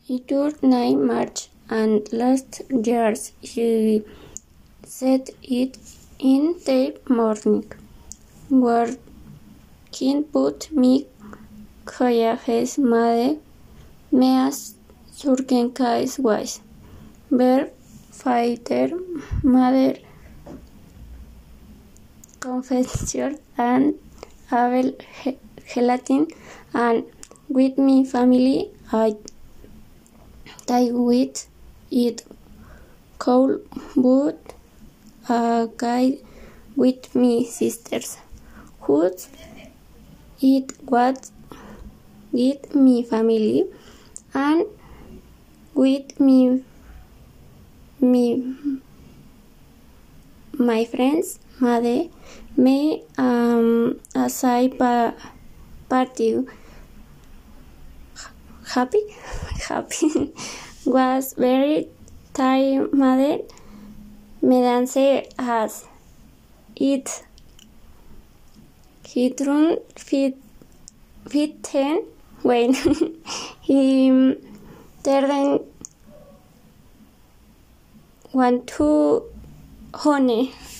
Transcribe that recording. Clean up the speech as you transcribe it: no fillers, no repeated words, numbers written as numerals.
It was 9 March, and last year he said it in the morning. Working put me collages made me surgen case wise. Ver fighter mother confession and Abel gelatin, and with my family I with it cold but a guy with me sisters who it was with me family and with me my friends made me a side party happy was very tired made me dance as it he turned fit ten when he turned want to honey.